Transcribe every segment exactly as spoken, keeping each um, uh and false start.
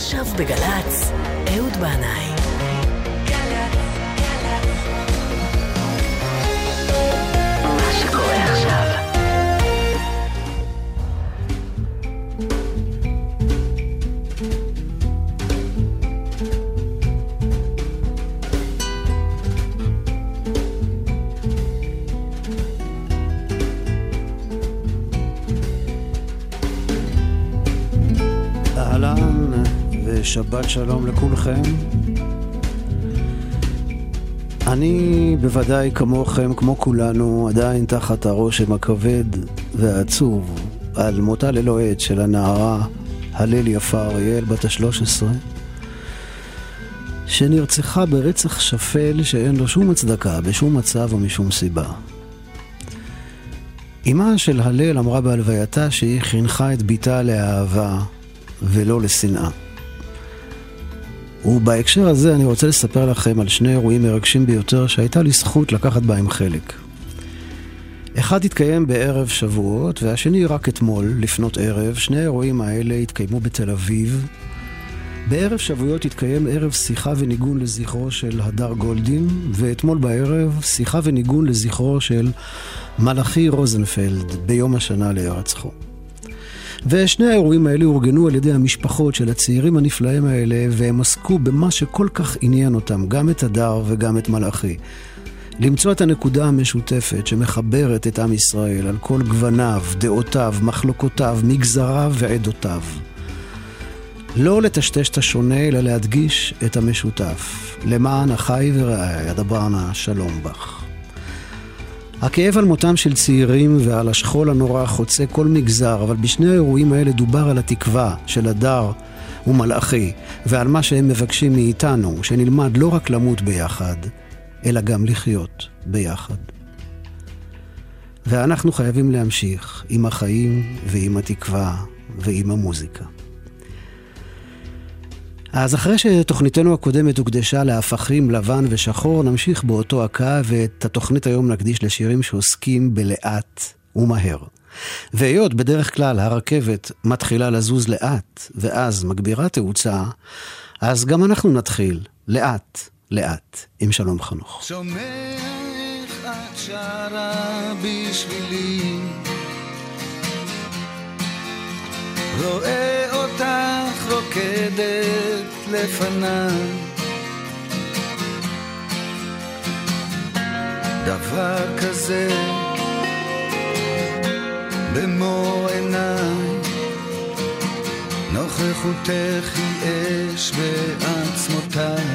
עכשיו בגלץ, אהוד בנאי. מה שקורה עכשיו. אהלן ושבת שלום לכולכם. אני בוודאי כמוכם, כמו כולנו, עדיין תחת הרושם הכבד והעצוב על מותה ללא עת של הנערה הלל יפה אריאל בת ה-שלוש עשרה, שנרצחה ברצח שפל שאין לו שום הצדקה בשום מצב או משום סיבה. אמא של הלל אמרה בהלווייתה שהיא חינכה את ביתה לאהבה ולא לשנאה. ובהקשר הזה אני רוצה לספר לכם על שני אירועים מרגשים ביותר שהייתה לי זכות לקחת בהם חלק. אחד התקיים בערב שבועות והשני רק אתמול לפנות ערב. שני האירועים האלה התקיימו בתל אביב. בערב שבועות התקיים ערב שיחה וניגון לזכרו של הדר גולדין, ואתמול בערב שיחה וניגון לזכרו של מלאכי רוזנפלד ביום השנה להירצחו. ושני האירועים האלה אורגנו על ידי המשפחות של הצעירים הנפלאים האלה, והם עסקו במה שכל כך עניין אותם, גם את הדר וגם את מלאכי. למצוא את הנקודה המשותפת שמחברת את עם ישראל על כל גווניו, דעותיו, מחלוקותיו, מגזריו ועדותיו. לא לטשטש את השונה, אלא להדגיש את המשותף. למען אחי ורעי, אדברנה שלום בך. הכאב על מותם של צעירים ועל השכול הנורא חוצה כל מגזר, אבל בשני האירועים האלה דובר על התקווה של הדר ומלאכי, ועל מה שהם מבקשים מאיתנו, שנלמד לא רק למות ביחד, אלא גם לחיות ביחד. ואנחנו חייבים להמשיך עם החיים ועם התקווה ועם המוזיקה. אז אחרי שתוכניתנו הקודמת הוקדשה להפכים לבן ושחור, נמשיך באותו הקו, ואת התוכנית היום נקדיש לשירים שעוסקים בלאט ומהר. והיות בדרך כלל הרכבת מתחילה לזוז לאט, ואז מגבירה תאוצה, אז גם אנחנו נתחיל לאט לאט עם שלום חנוך. שומע איך את שרה בשבילי, רואה אותך רוקדת לפניי, דבר כזה במו עיניי, נוכחותך היא אש בעצמותיי.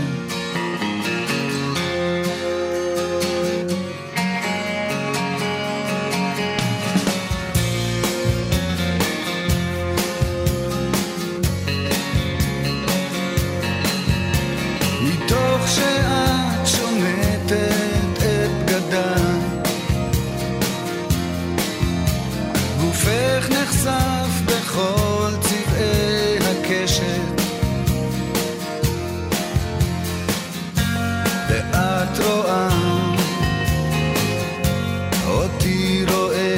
שאת שומטת את בגדיי, גופך נחשף בכל צבעי הקשת, ואת רואה אותי רואה,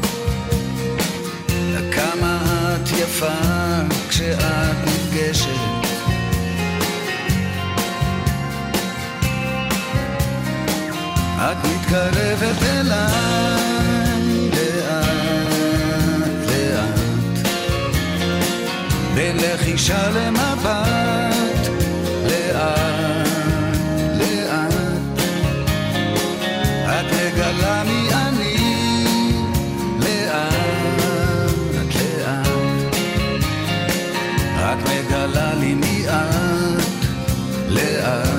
כמה את יפה כשאת נפגשת. את מתקרבת אליי לאט לאט, בין לחישה למבט, לאט לאט את מגלה מי אני, לאט לאט את מגלה לי מי את, לאט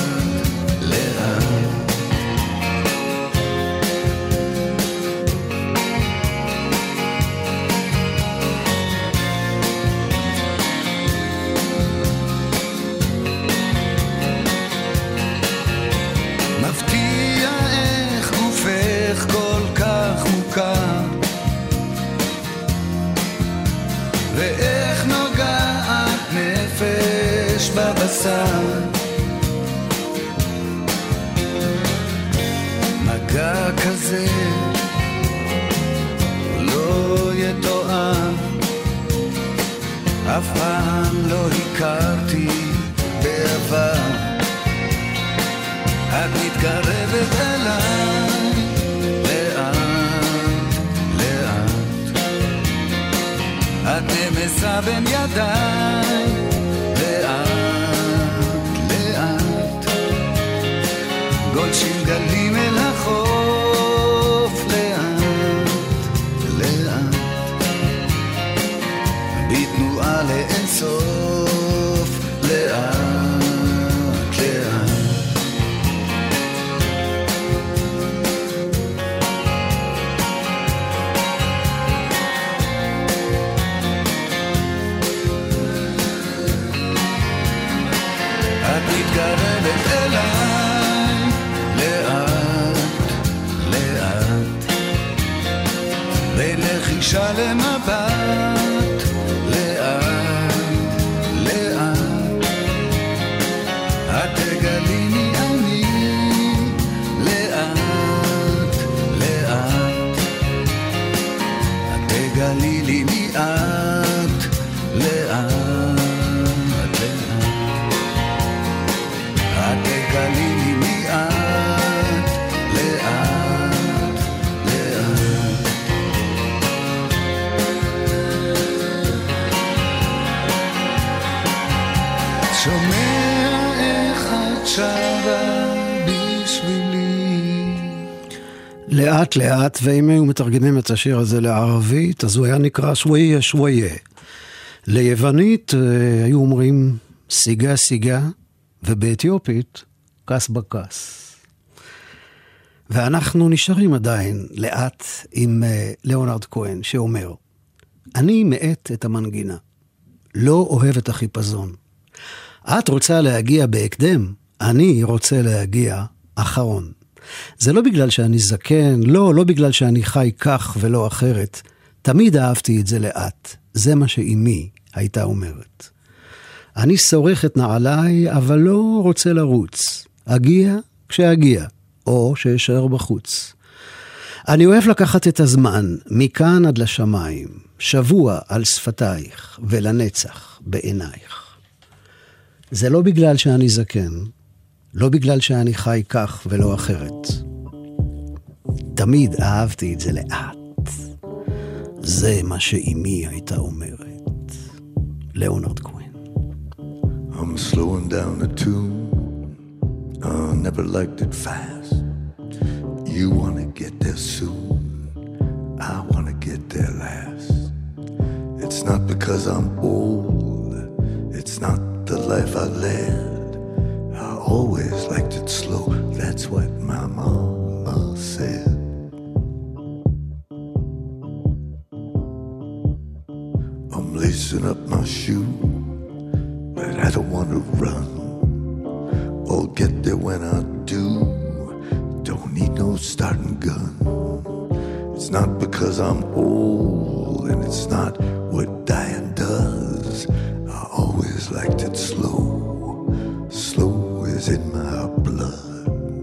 ואיך נוגעת נפש בבשר, מגע כזה לא יתואר, אף פעם לא הכרתי בעבר. את מתקרבת אליי לאט לאט, את נמסה בין ידיי לאט לאט, גולשים גלים אל החוף לאט לאט, בתנועה לאין סוף לאט לאט. את מתקרבת אליי לאט לאט, בין לחישה למבט לאט לאט, את תגלי מי אני לאט לאט, את תגלי לי מי את לאט לאט, את תגלי לי מי את לאט לאט. שומע איך את שרה בשבילי. לאט לאט, ואם היו מתרגמים את השיר הזה לערבית, אז הוא היה נקרא שויה שויה. ליוונית היו אומרים סיגה סיגה, ובאתיופית קס בקס. ואנחנו נשארים עדיין לאט עם ליאונרד כהן שאומר, אני מעט את המנגינה, לא אוהב את החיפזון. את רוצה להגיע בהקדם, אני רוצה להגיע אחרון. זה לא בגלל שאני זקן, לא, לא בגלל שאני חי כך ולא אחרת. תמיד אהבתי את זה לאט, זה מה שאימי הייתה אומרת. אני שורח את נעליי, אבל לא רוצה לרוץ. אגיע כשאגיע, או שאשאר בחוץ. אני אוהב לקחת את הזמן, מכאן עד לשמיים, שבוע על שפתייך, ולנצח בעינייך. זה לא בגלל שאני זקן, לא בגלל שאני חי כך ולא אחרת. תמיד אהבתי את זה לאט. זה מה שאימי הייתה אומרת. ליאונרד כהן. I'm slowing down the tune, I never liked it fast. You wanna get there soon, I wanna get there last. It's not because I'm old, it's not the life I led. I always liked it slow, that's what my mama said. I'm lacing up my shoe, but I don't want to run. I'll get there when I do. Don't need no starting gun. It's not because I'm old, and it's not what dying does. I always liked it slow. Slow is in my blood.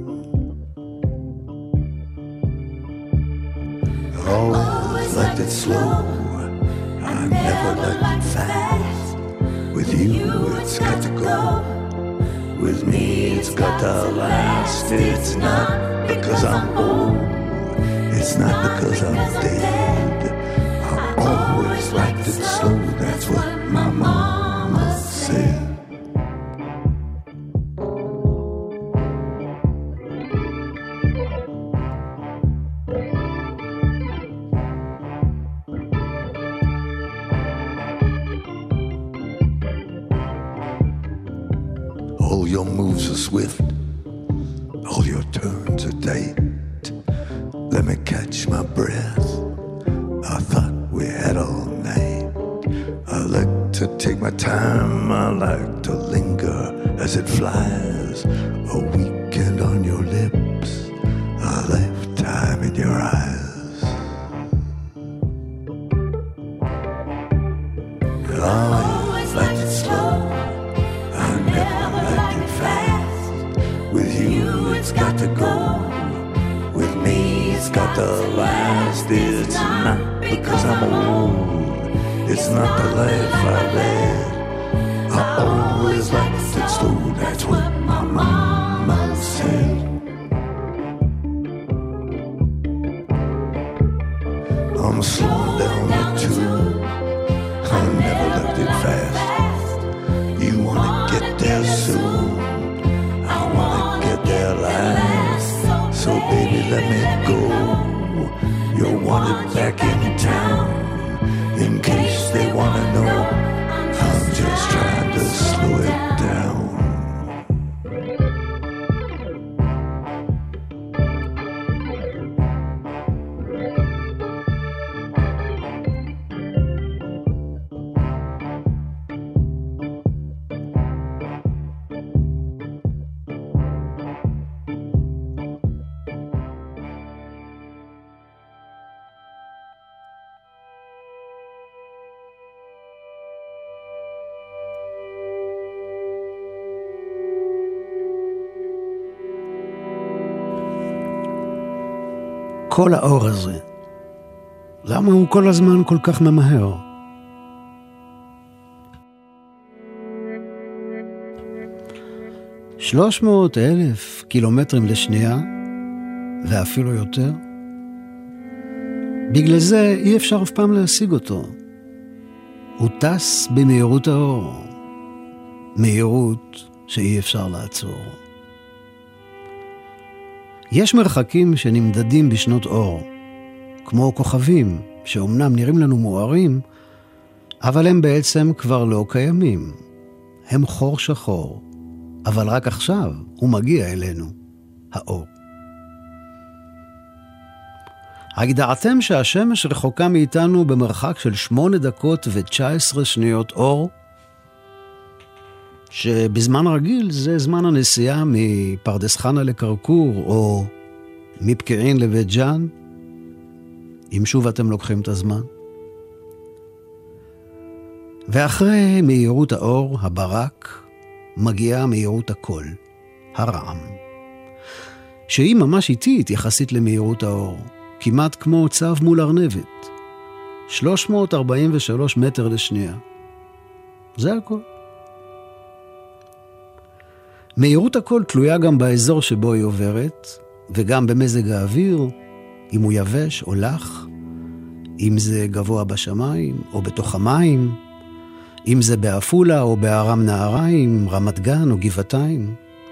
I always liked it slow. I never liked it fast. With you, it's got to go. With me, it's got to last. It's not because I'm old. It's not because I'm dead. I always liked it slow. That's what my mama said. All your moves are swift, all your turns are tight. Let me catch my breath, I thought we had all night. I like to take my time, I like to linger as it flies. A weekend on your lips, a lifetime in your eyes. I always liked it slow, I never liked it fast. With you it's got to go, with me it's got to last. It's not because I'm old, It's not the life I led. I always liked it slow, that's what my mama said. I'm slowing down the tune, I never left it fast. You wanna get there soon, I wanna get there last. So baby let me go, you're wanted back in town. In case they wanna know, I'm just trying to slow it down. כל האור הזה, למה הוא כל הזמן כל כך ממהר? שלוש מאות אלף קילומטרים לשנייה, ואפילו יותר. בגלל זה אי אפשר אף פעם להשיג אותו. הוא טס במהירות האור, מהירות שאי אפשר לעצור. יש מרחקים שנמדדים בשנות אור, כמו כוכבים שאומנם נראים לנו מוארים, אבל הם בעצם כבר לא קיימים. הם חור שחור, אבל רק עכשיו הוא מגיע אלינו, האור. הידעתם שהשמש רחוקה מאיתנו במרחק של שמונה דקות ותשע עשרה שניות אור? שבזמן רגיל זה זמן הנסיעה מפרדס חנה לקרקור או מפקיעין לבית ג'אן, אם שוב אתם לוקחים את הזמן. ואחרי מהירות האור, הברק, מגיעה מהירות הקול, הרעם, שהיא ממש איטית יחסית למהירות האור, כמעט כמו צב מול ארנבת, שלוש מאות ארבעים ושלוש מטר לשנייה. זה הכל. מהירות הקול תלויה גם באזור שבו היא עוברת, וגם במזג האוויר, אם הוא יבש או לח, אם זה גבוה בשמיים או בתוך המים, אם זה באפולה או בארם נהריים, רמת גן או גבעתיים.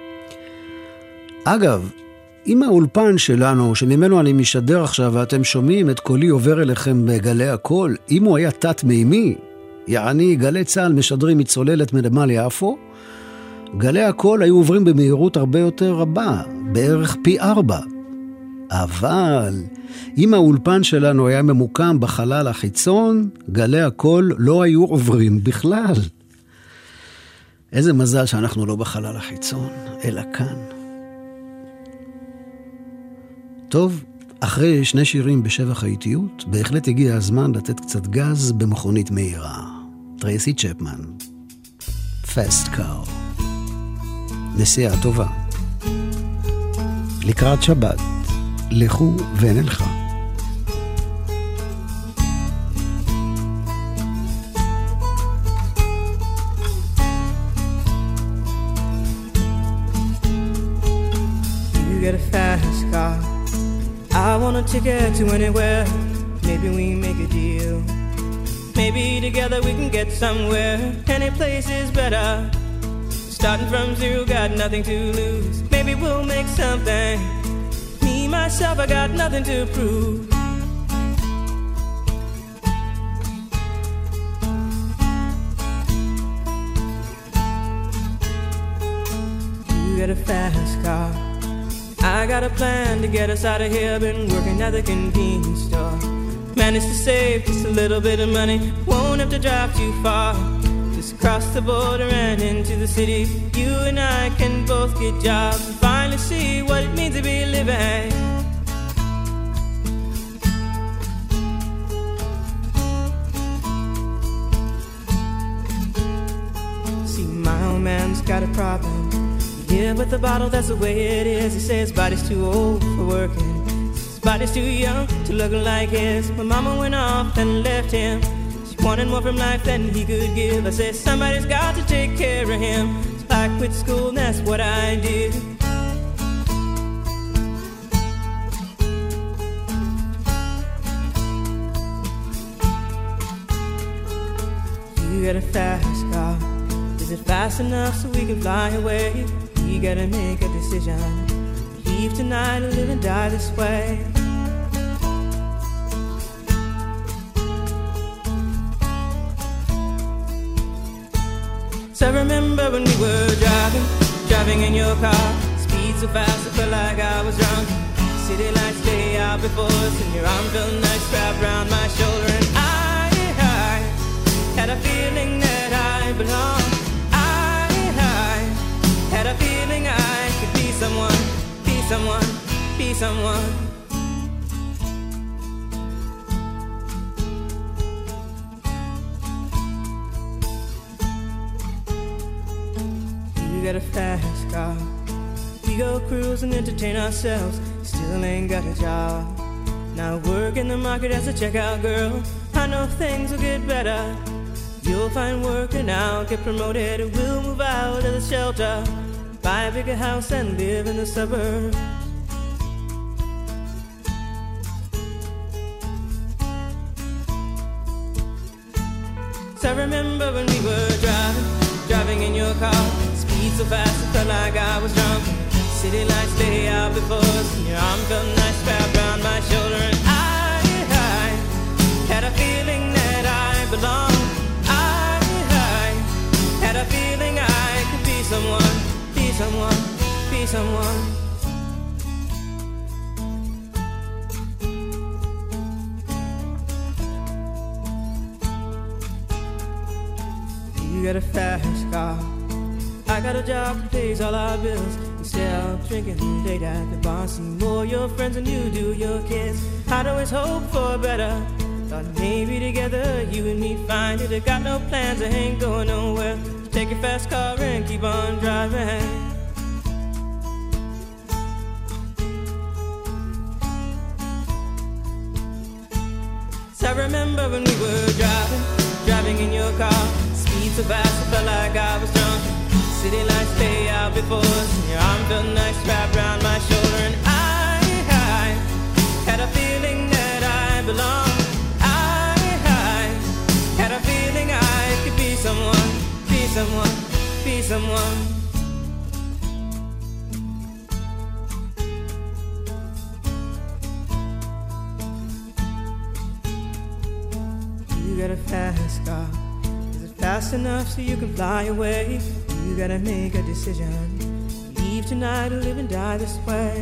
אגב, אם האולפן שלנו, שממנו אני משדר עכשיו ואתם שומעים את קולי עובר אליכם בגלי הקול, אם הוא היה תת מימי, יעני גלי צהל משדרים מצוללת מנמל יפו, גלי הקול היו עוברים במהירות הרבה יותר רבה, בערך פי ארבע. אבל אם האולפן שלנו היה ממוקם בחלל החיצון, גלי הקול לא היו עוברים בכלל. איזה מזל שאנחנו לא בחלל החיצון, אלא כאן. טוב, אחרי שני שירים בשבח האיטיות, בהחלט הגיע הזמן לתת קצת גז במכונית מהירה. טרייסי צ'פמן, Fast Car. נסיעה טובה. לקראת שבת, לכו ונלכה. You get a fast car, I want a ticket to anywhere. Maybe we make a deal. Maybe together we can get somewhere. Any place is better. Starting from zero, got nothing to lose. Maybe we'll make something. Me, myself, I got nothing to prove. You got a fast car, I got a plan to get us out of here. Been working at the convenience store, managed to save just a little bit of money. Won't have to drive too far. Cross the border and into the city. You and I can both get jobs and finally see what it means to be living. See, my old man's got a problem. Yeah, but the bottle, that's the way it is. He says his body's too old for working. His body's too young to look like his. My mama went off and left him. wanted more from life than he could give. I said, somebody's got to take care of him. So I quit school and that's what I did. You got a fast car. Is it fast enough so we can fly away? We gotta make a decision. Leave tonight or live and die this way. So I remember when we were driving, driving in your car. Speed so fast I felt like I was drunk. City lights lay out before us and your arm felt nice wrapped around my shoulder. And I, I had a feeling that I belonged. I, I had a feeling I could be someone, be someone, be someone. You got a fast car. We go cruise and entertain ourselves. Still ain't got a job. Now work in the market as a checkout girl. I know things will get better. You'll find work and I'll get promoted. We'll move out of the shelter, buy a bigger house and live in the suburbs. So I remember when we were driving, driving in your car. Speed so fast I felt like I was drunk. City lights lay out before us and your arm felt nice wrapped around my shoulder. And I, I had a feeling that I belonged. I, I had a feeling I could be someone, be someone, be someone. You got a fast car. I got a job that pays all our bills. Instead of drinking late at the bar, see more your friends than you do your kids. I'd always hope for better. Thought maybe together you and me find it. I got no plans, I ain't going nowhere. So take your fast car and keep on driving. So I remember when we were driving, driving in your car. Speed so fast I felt like I was drunk. City lights lay out before us and your arm felt nice wrapped around my shoulder. And I, I had a feeling that I belonged. I, I had a feeling I could be someone, be someone, be someone. You got a fast car. Is it fast enough so you can fly away? You gotta make a decision. Leave tonight or live and die this way.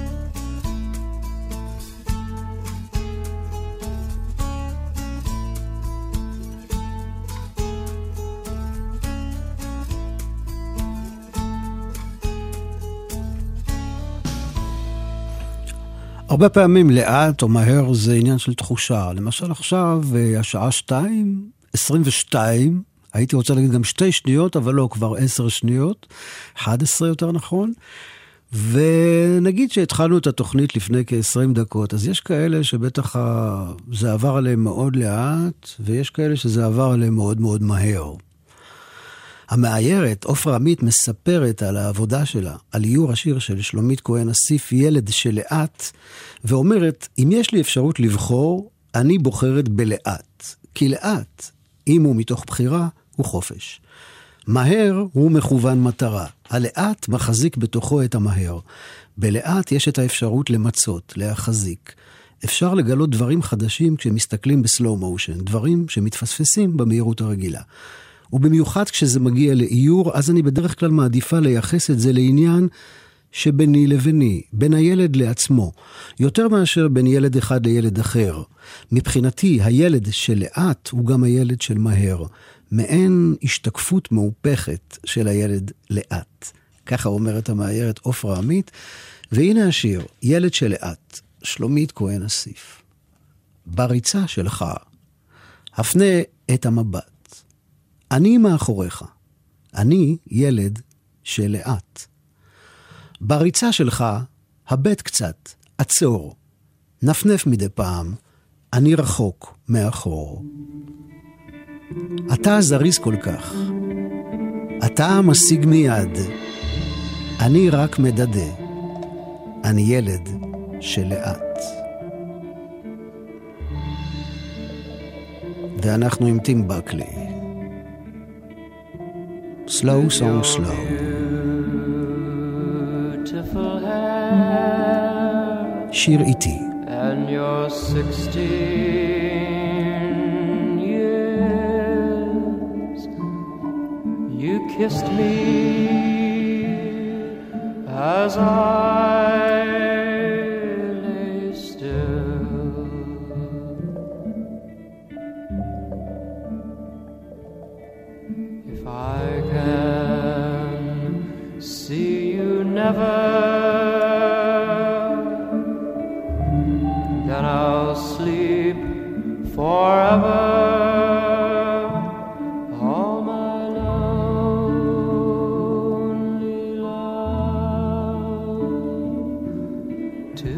הרבה פעמים לאט או מהר זה עניין של תחושה. למשל עכשיו, השעה שתיים, עשרים ושתיים, הייתי רוצה להגיד גם שתי שניות, אבל לא, כבר עשר שניות, אחד עשרה יותר נכון, ונגיד שהתחלנו את התוכנית לפני כ-עשרים דקות, אז יש כאלה שבטח זה עבר עליהם מאוד לאט, ויש כאלה שזה עבר עליהם מאוד מאוד מהר. המאיירת, עופרה עמית, מספרת על העבודה שלה, על איור השיר של שלומית כהן אסיף, ילד שלאט, ואומרת, אם יש לי אפשרות לבחור, אני בוחרת בלאט, כי לאט, אם הוא מתוך בחירה, הוא חופש. מהר הוא מכוון מטרה. הלאט מחזיק בתוכו את המהר. בלאט יש את האפשרות למצות, להחזיק. אפשר לגלות דברים חדשים כשמסתכלים בסלואו מושן, דברים שמתפספסים במהירות הרגילה. ובמיוחד כשזה מגיע לאיור, אז אני בדרך כלל מעדיפה לייחס את זה לעניין שביני לביני, בין הילד לעצמו, יותר מאשר בין ילד אחד לילד אחר. מבחינתי, הילד שלאט הוא גם הילד של מהר, מעין השתקפות מאופכת של הילד לאט. ככה אומרת המאיירת עופרה עמית, והנה השיר, ילד שלאט, שלומית כהן אסיף. בריצה שלך, הפנה את המבט. אני מאחוריך, אני ילד שלאט. בריצה שלך, הבט קצת, עצור, נפנף מדי פעם, אני רחוק מאחור. אתה זריז כל כך, אתה משיג מיד, אני רק מדדה, אני ילד שלאט. ואנחנו עם טים בקלי. Slow song slow. שיר איתי. And you're sixteen years. You kissed me as I lay still. If I can see you never, then I'll sleep forever. All my lonely love to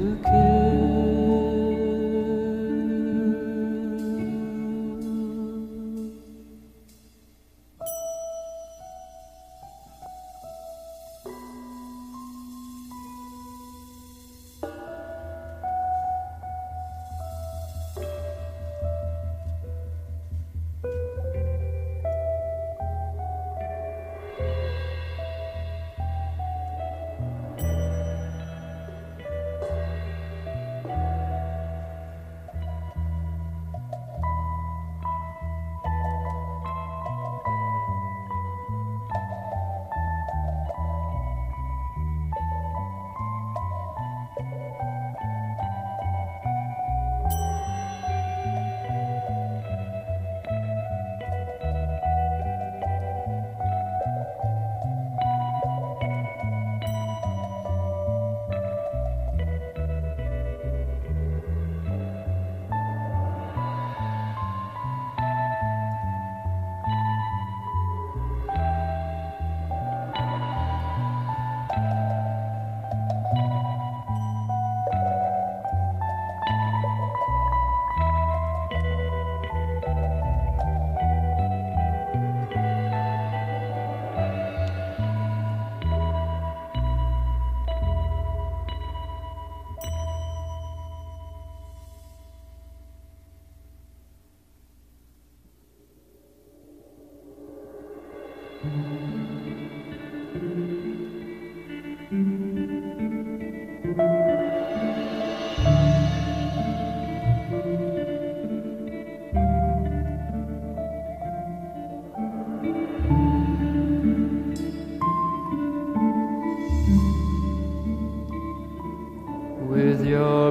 with your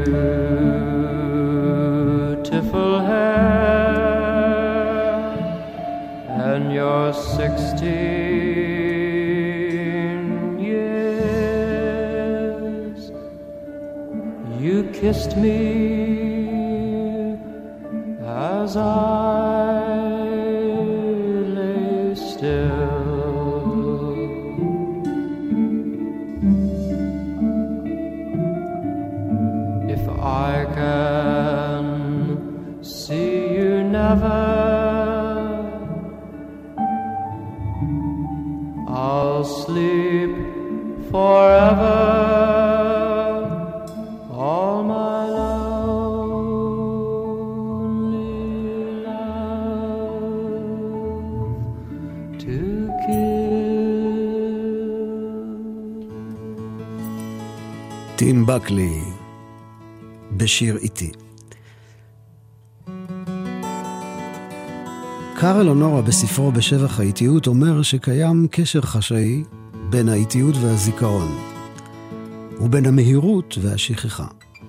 beautiful hair and your sixteen years. You kissed me as I lay still. If I can see you never, I'll sleep forever. All my lonely love to kill. טים בקלי בשיר איתי. קארל אונורה בספרו בשבח האיטיות אומר שקיים קשר חשאי בין האיטיות והזיכרון ובין המהירות והשכחה.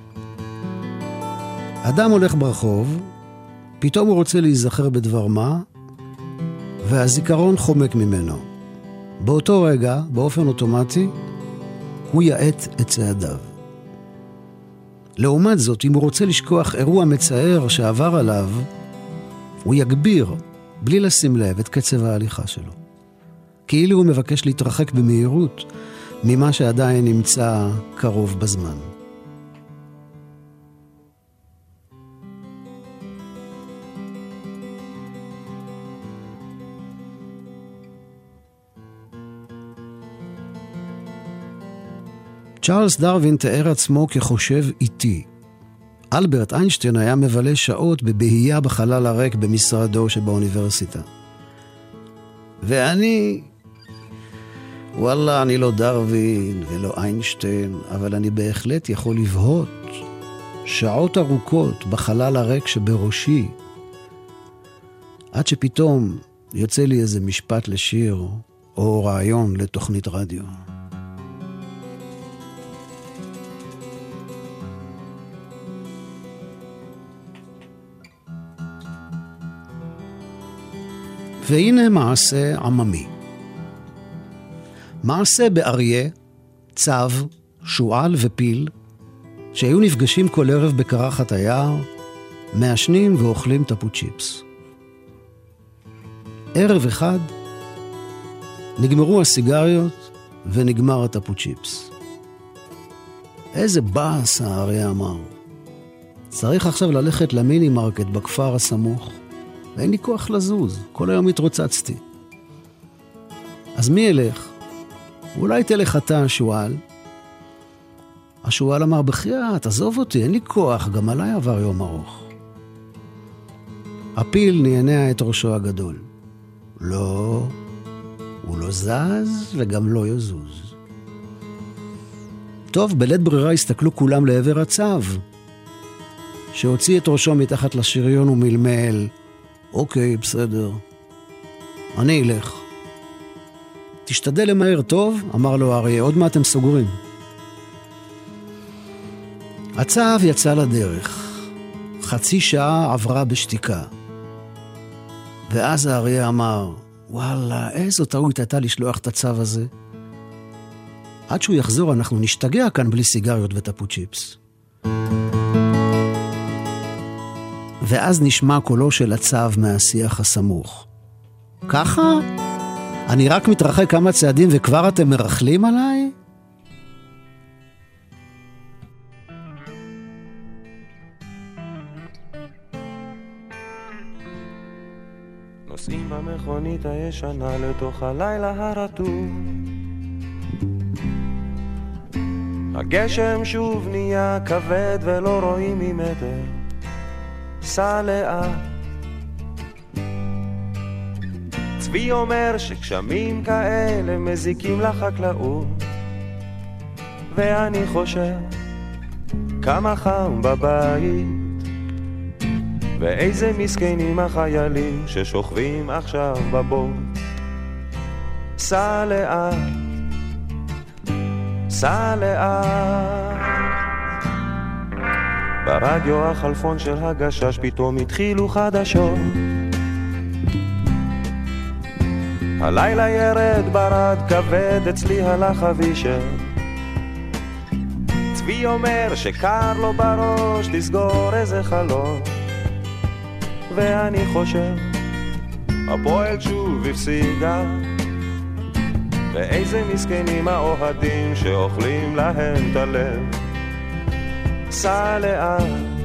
אדם הולך ברחוב, פתאום הוא רוצה להיזכר בדבר מה, והזיכרון חומק ממנו. באותו רגע, באופן אוטומטי, הוא יעט את צעדיו. לעומת זאת, אם הוא רוצה לשכוח אירוע מצער שעבר עליו, הוא יגביר, בלי לשים לב, את קצב ההליכה שלו. כאילו הוא מבקש להתרחק במהירות ממה שעדיין נמצא קרוב בזמן. צ'ארלס דרווין תיאר עצמו כחושב איטי. אלברט איינשטיין היה מבלה שעות בבהייה בחלל הריק במשרדו שבאוניברסיטה. ואני, וואלה, אני לא דרווין ולא איינשטיין, אבל אני בהחלט יכול לבהות שעות ארוכות בחלל הריק שבראשי, עד שפתאום יוצא לי איזה משפט לשיר או רעיון לתוכנית רדיו. והנה מעשה עממי. מעשה באריה, צב, שועל ופיל, שהיו נפגשים כל ערב בקרחת היער, מעשנים ואוכלים טפו צ'יפס. ערב אחד נגמרו הסיגריות ונגמר הטפו צ'יפס. איזה באס, האריה אמר. צריך עכשיו ללכת למיני מרקט בכפר הסמוך. ואין לי כוח לזוז, כל היום התרוצצתי. אז מי ילך? אולי תלך אתה, השואל. השואל אמר, בחייאת, תעזוב אותי, אין לי כוח, גם עליי עבר יום ארוך. הפיל נענע את ראשו הגדול. לא, הוא לא זז וגם לא יזוז. טוב, בלית ברירה הסתכלו כולם לעבר הצב, שהוציא את ראשו מתחת לשריון ומלמל, אוקיי, בסדר. אני אלך. תשתדל למהר טוב, אמר לו האריה, עוד מה אתם סוגרים? הצב יצא לדרך. חצי שעה עברה בשתיקה. ואז האריה אמר, וואלה, איזו טעות הייתה לשלוח את הצב הזה. עד שהוא יחזור אנחנו נשתגע כאן בלי סיגריות וטפו צ'יפס. ואז נשמע קולו של הצב מהשיח הסמוך. ככה? אני רק מתרחק כמה צעדים וכבר אתם מרחלים עליי? נוסעים במכונית הישנה לתוך הלילה הרטוב. הגשם שוב נהיה כבד ולא רואים ממטר. סע לאט. צבי אומר שגשמים כאלה מזיקים לחקלאות, ואני חושב כמה חם בבית, ואיזה מסכנים החיילים ששוכבים עכשיו בבוט. סע לאט, סע לאט. ברדיו החלפון של הגשש פתאום התחילו חדשות. הלילה ירד ברד כבד, אצלי הלך אבישר. צבי אומר שקר לו בראש, תסגור איזה חלון. ואני חושב הפועל שוב הפסידה, ואיזה מסכנים האוהדים שאוכלים להם את הלב. סע לאט,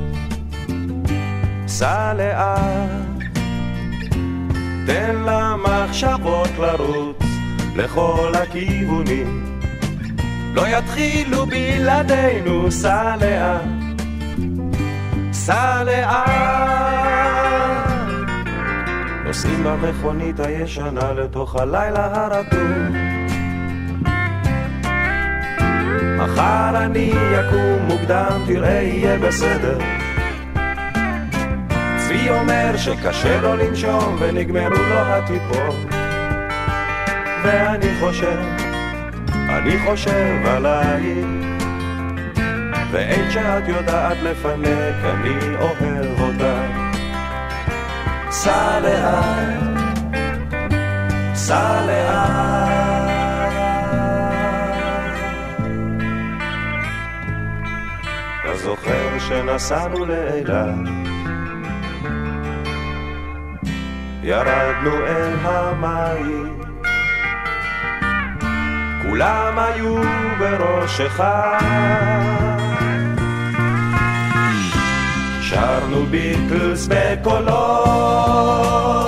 סע לאט, תן למחשבות לרוץ לכל הכיוונים, לא יתחילו בלעדינו. סע לאט, סע לאט. נוסעים במכונית הישנה לתוך הלילה הרטוב. מחר אני יקום מוקדם, תראה יהיה בסדר. צבי אומר שקשה לו לנשום ונגמרו לו הטיפות. ואני חושב, אני חושב עלייך, ואין שאת יודעת לפנק, אני אוהב אותך. סע לאט, סע לאט. אתה זוכר שנסענו לאילת, ירדנו אל המים, כולם היו בראש אחד, שרנו ביטלס בקולות.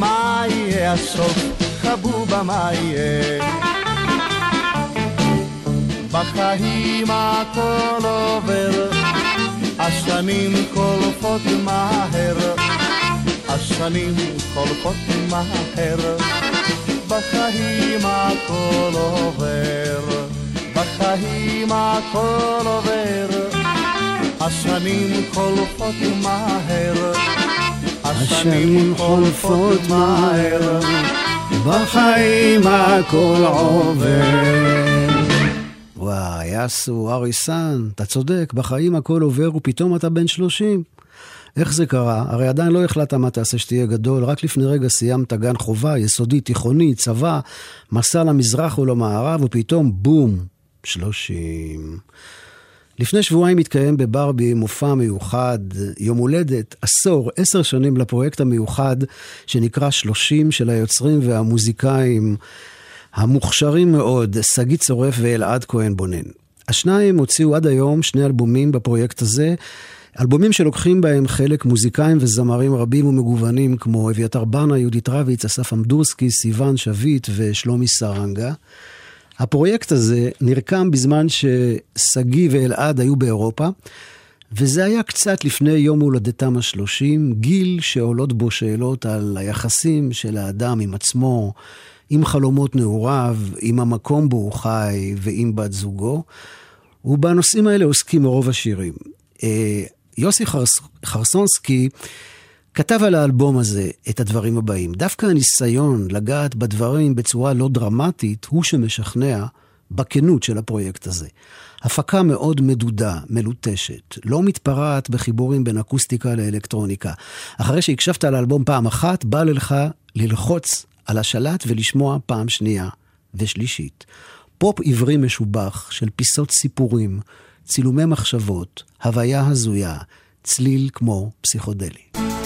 מה יהיה הסוף, חבובה מה יהיה. בחיים הכל עובר, השנים חולפות מהר, השנים חולפות מהר. בחיים הכל עובר, בחיים הכל עובר, השנים חולפות מהר, השנים חולפות מהר. בחיים הכל עובר. וואי, יאסו, אריסן, אתה צודק, בחיים הכל עובר ופתאום אתה בן שלושים. איך זה קרה? הרי עדיין לא החלטת מה תעשה שתהיה גדול, רק לפני רגע סיימת גן חובה, יסודי, תיכוני, צבא, מסע למזרח ולמערב, ופתאום בום, שלושים. לפני שבועיים התקיים בברבי מופע מיוחד, יום הולדת, עשור, עשר שנים לפרויקט המיוחד, שנקרא שלושים של היוצרים והמוזיקאים, המוכשרים מאוד, סגי צורף ואלעד כהן בונן. השניים הוציאו עד היום שני אלבומים בפרויקט הזה, אלבומים שלוקחים בהם חלק מוזיקאים וזמרים רבים ומגוונים, כמו אביתר בנה, יהודית רביץ, אסף אמדורסקי, סיוון שביט ושלומי סרנגה. הפרויקט הזה נרקם בזמן שסגי ואלעד היו באירופה, וזה היה קצת לפני יום הולדתם השלושים, גיל שעולות בו שאלות על היחסים של האדם עם עצמו, עם חלומות נעוריו, עם המקום בו הוא חי ועם בת זוגו, ובנושאים האלה עוסקים מרוב השירים. יוסי חרס, חרסונסקי כתב על האלבום הזה את הדברים הבאים. דווקא הניסיון לגעת בדברים בצורה לא דרמטית הוא שמשכנע בכנות של הפרויקט הזה. הפקה מאוד מדודה, מלוטשת, לא מתפרעת בחיבורים בין אקוסטיקה לאלקטרוניקה. אחרי שהקשבת על האלבום פעם אחת, בא לך ללחוץ על השלט ולשמוע פעם שנייה ושלישית. פופ עברי משובח של פיסות סיפורים, צילומי מחשבות, הוויה הזויה, צליל כמו פסיכודלי.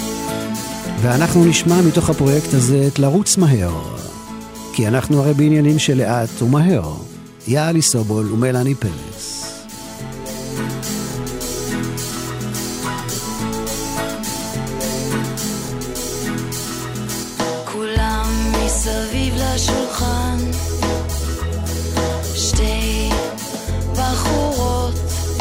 ואנחנו נשמע מתוך הפרויקט הזה את לרוץ מהר, כי אנחנו הרי בעניינים של לאט ומהר. יאלי סובול ומלאני פרס. כולם מסביב לשולחן, שתי בחורות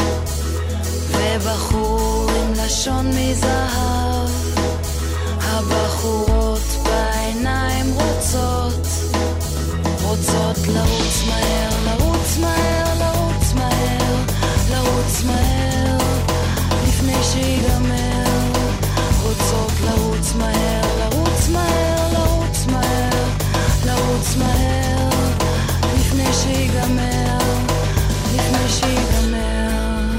ובחור עם לשון מזהב. הבחורות בעיניים רוצות, רוצות לרוץ מהר, לרוץ מהר, לרוץ מהר, לרוץ מהר, לפני שיגמר. רוצות לרוץ מהר, לרוץ מהר, לרוץ מהר, לרוץ מהר, לפני שיגמר, לפני שיגמר.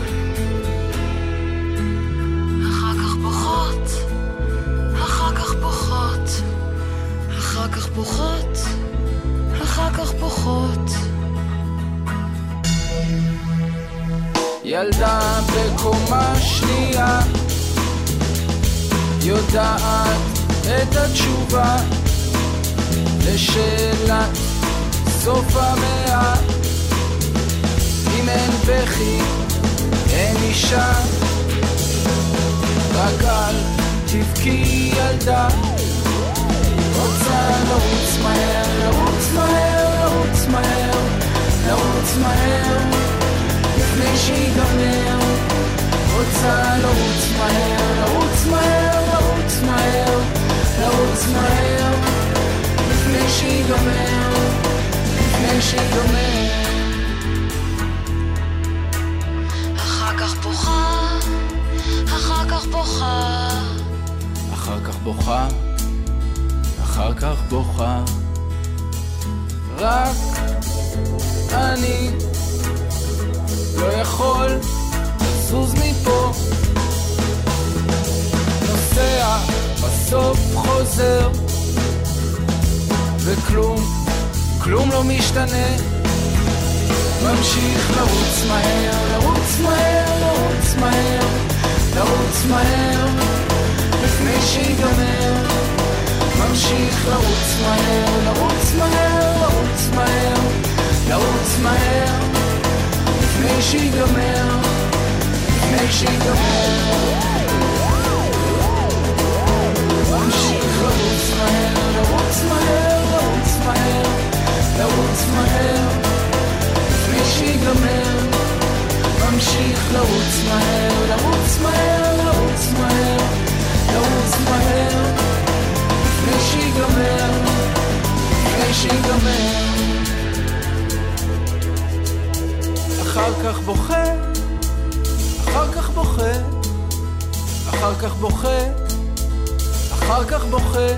אחר כך בוכות, אחר כך בוכות, אחר כך בוכות, אחר כך בוכות. ילדה בקומה שנייה יודעת את התשובה לשאלת סוף המאה. אם אין בכי אין אישה, רק אל תבכי ילדה. רוצה לרוץ מהר, לרוץ מהר, לרוץ מהר, לרוץ מהר, לפני שיגמר. רוצה לרוץ מהר, לרוץ מהר, לרוץ מהר, לרוץ מהר, לפני שיגמר, לפני שיגמר. אחר כך בוכה, אחר כך בוכה, אחר כך בוכה, אחר כך בוכה. רק אני לא יכול לזוז מפה, נוסע בסוף חוזר, וכלום, כלום לא משתנה. ממשיך לרוץ מהר, לרוץ מהר, לרוץ מהר, לרוץ מהר, לפני שיגמר. ממשיך לרוץ מהר, לרוץ מהר, לרוץ מהר, לרוץ מהר, לפני שיגמר, לפני שיגמר. ממשיך לרוץ מהר, לרוץ מהר, לפני שיגמר, ממשיך לרוץ מהר, לרוץ מהר, לרוץ מהר, לרוץ מהר, לפני שיגמר, לפני שיגמר. אחר כך בוכה, אחר כך בוכה, אחר כך בוכה, אחר כך בוכה.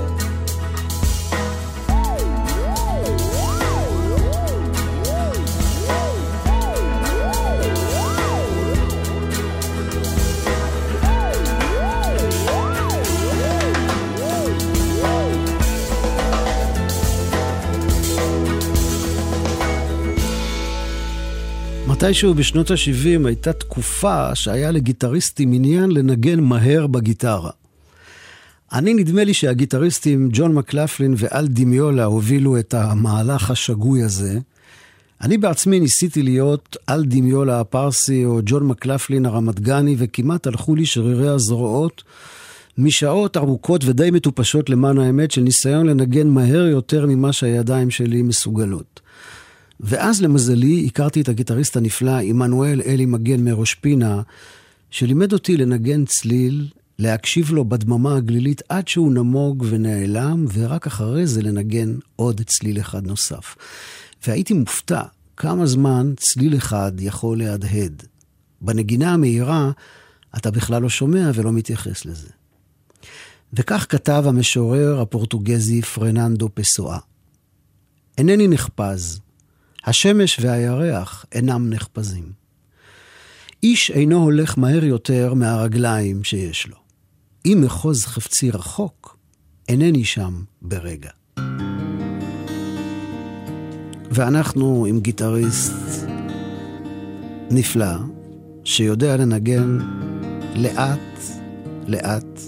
מתישהו בשנות ה-שבעים הייתה תקופה שהיה לגיטריסטים עניין לנגן מהר בגיטרה. אני נדמה לי שהגיטריסטים ג'ון מקלפלין ואל דימיולה הובילו את המהלך השגוי הזה. אני בעצמי ניסיתי להיות אל דימיולה הפרסי או ג'ון מקלפלין הרמתגני, וכמעט הלכו לי שרירי הזרועות משעות ארוכות ודי מטופשות למען האמת של ניסיון לנגן מהר יותר ממה שהידיים שלי מסוגלות. ואז למזלי הכרתי את הגיטריסט הנפלא עמנואל אלי מגן מראש פינה, שלימד אותי לנגן צליל, להקשיב לו בדממה הגלילית עד שהוא נמוג ונעלם, ורק אחרי זה לנגן עוד צליל אחד נוסף. והייתי מופתע כמה זמן צליל אחד יכול להדהד. בנגינה המהירה אתה בכלל לא שומע ולא מתייחס לזה. וכך כתב המשורר הפורטוגזי פרננדו פסואה. אינני נחפז, השמש והירח אינם נחפזים. איש אינו הולך מהר יותר מהרגליים שיש לו. אם מחוז חפצי רחוק, אינני שם ברגע. ואנחנו עם גיטריסט נפלא, שיודע לנגן לאט, לאט.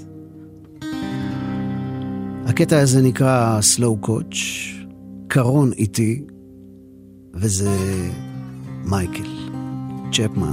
הקטע הזה נקרא Slow Coach, קרון איתי, וזה מייקל צ'פמן.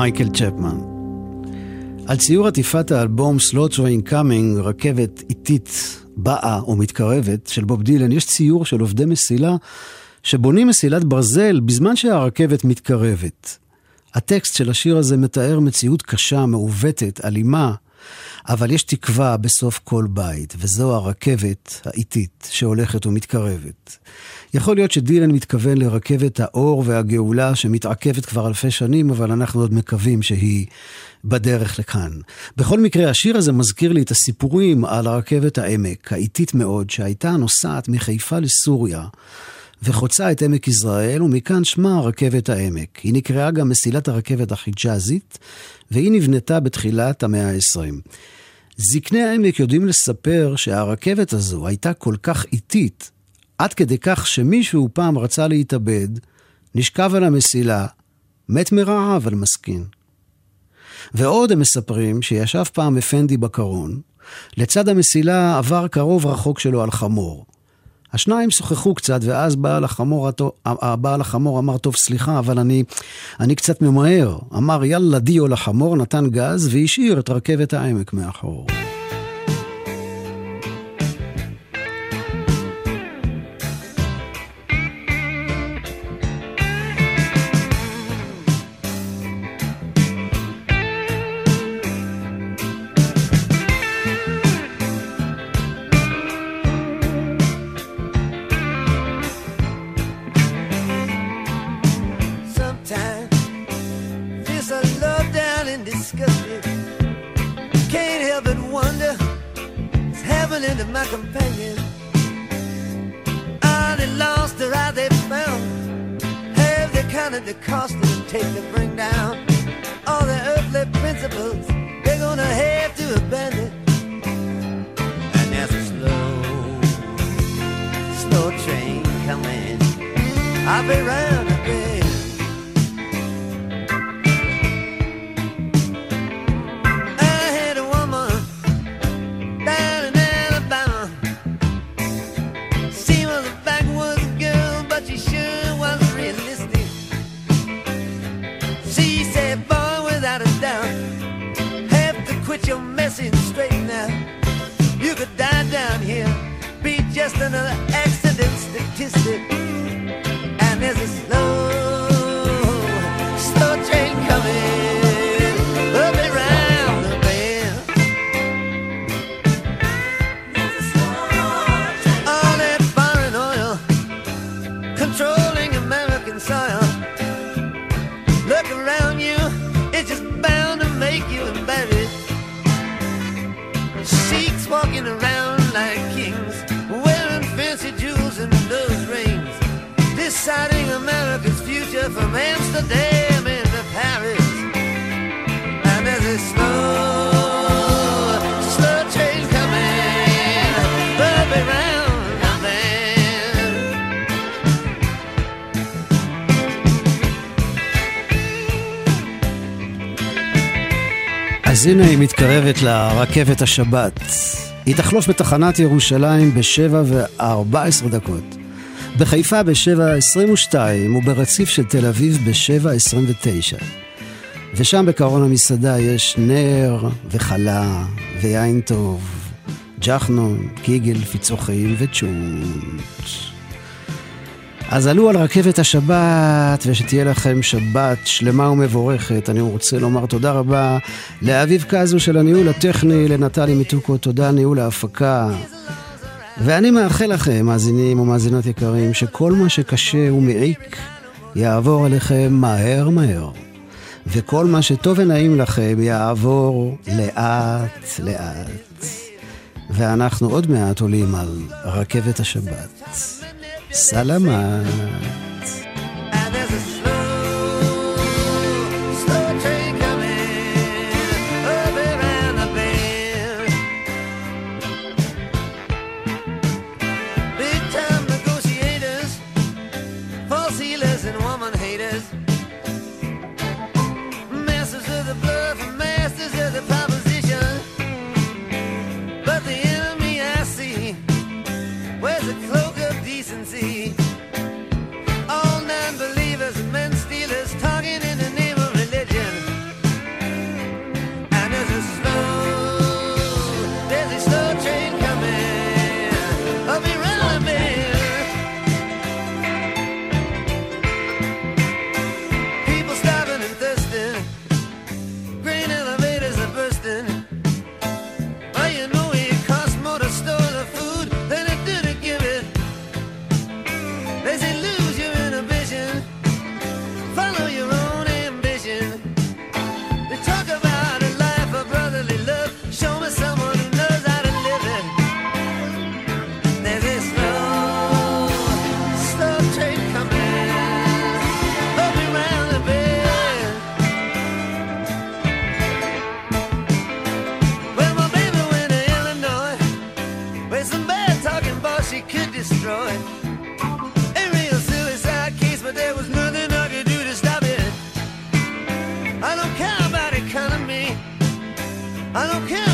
מייקל צ'פמן. על ציור עטיפת האלבום Slow Train Coming, רכבת איטית באה או מתקרבת של בוב דילן, יש ציור של עובדי מסילה שבונים מסילת ברזל בזמן שהרכבת מתקרבת. הטקסט של השיר הזה מתאר מציאות קשה, מעוותת, אלימה, אבל יש תקווה בסוף כל בית, וזו הרכבת האיטית שהולכת ומתקרבת. יכול להיות שדילן מתכוון לרכבת האור והגאולה שמתעכבת כבר אלפי שנים, אבל אנחנו עוד מקווים שהיא בדרך לכאן. בכל מקרה, השיר הזה מזכיר לי את הסיפורים על הרכבת העמק, האיטית מאוד, שהייתה נוסעת מחיפה לסוריה, וחוצה את עמק ישראל, ומכאן שמה רכבת העמק. היא נקראה גם מסילת הרכבת החיג'אזית, והיא נבנתה בתחילת המאה ה-עשרים. זקני העמק יודעים לספר שהרכבת הזו הייתה כל כך איטית, עד כדי כך שמישהו פעם רצה להתאבד, נשכב על המסילה, מת מרעב אבל מסכין. ועוד הם מספרים שישב פעם אפנדי בקרון, לצד המסילה עבר קרוב רחוק שלו על חמור. השניים שוחחו קצת, ואז בעל החמור, בעל החמור אמר, טוב סליחה, אבל אני, אני קצת ממהר. אמר יאללה דיו לחמור, נתן גז והשאיר את רכבת העמק מאחור. My companion, are they lost or are they found? Have they counted the cost it would take to bring down all the earthly principles they're gonna have to abandon? And there's a slow, slow train coming. I'll be round a bend. Your message straight now. You could die down here, be just another accident statistic. And there's a slow, slow train coming up around the bend. All that foreign oil controlling American soil. Look around you, it's just bound to make you embarrassed. Sheiks walking around like kings, wearing fancy jewels and nose rings, deciding America's future from Amsterdam into Paris. And there's a slow, slow train coming up around the bend. אז הנה היא מתקרבת לרכבת השבת. היא תחלוף בתחנת ירושלים בשבע וארבע עשרה דקות, בחיפה בשבע עשרים ושתיים וברציף של תל אביב בשבע עשרים ותשע. ושם בקרון המסעדה יש נר וחלה ויין טוב, ג'חנון, קיגל, פיצוחים וצ'ונט. אז עלו על רכבת השבת, ושתהיה לכם שבת שלמה ומבורכת. אני רוצה לומר תודה רבה לאביב קזו של הניהול הטכני, לנטלי מיטוקו, תודה ניהול ההפקה. ואני מאחל לכם, מאזינים ומאזינות יקרים, שכל מה שקשה ומעיק יעבור עליכם מהר מהר. וכל מה שטוב ונעים לכם יעבור לאט לאט. ואנחנו עוד מעט עולים על רכבת השבת. סלמת. I don't care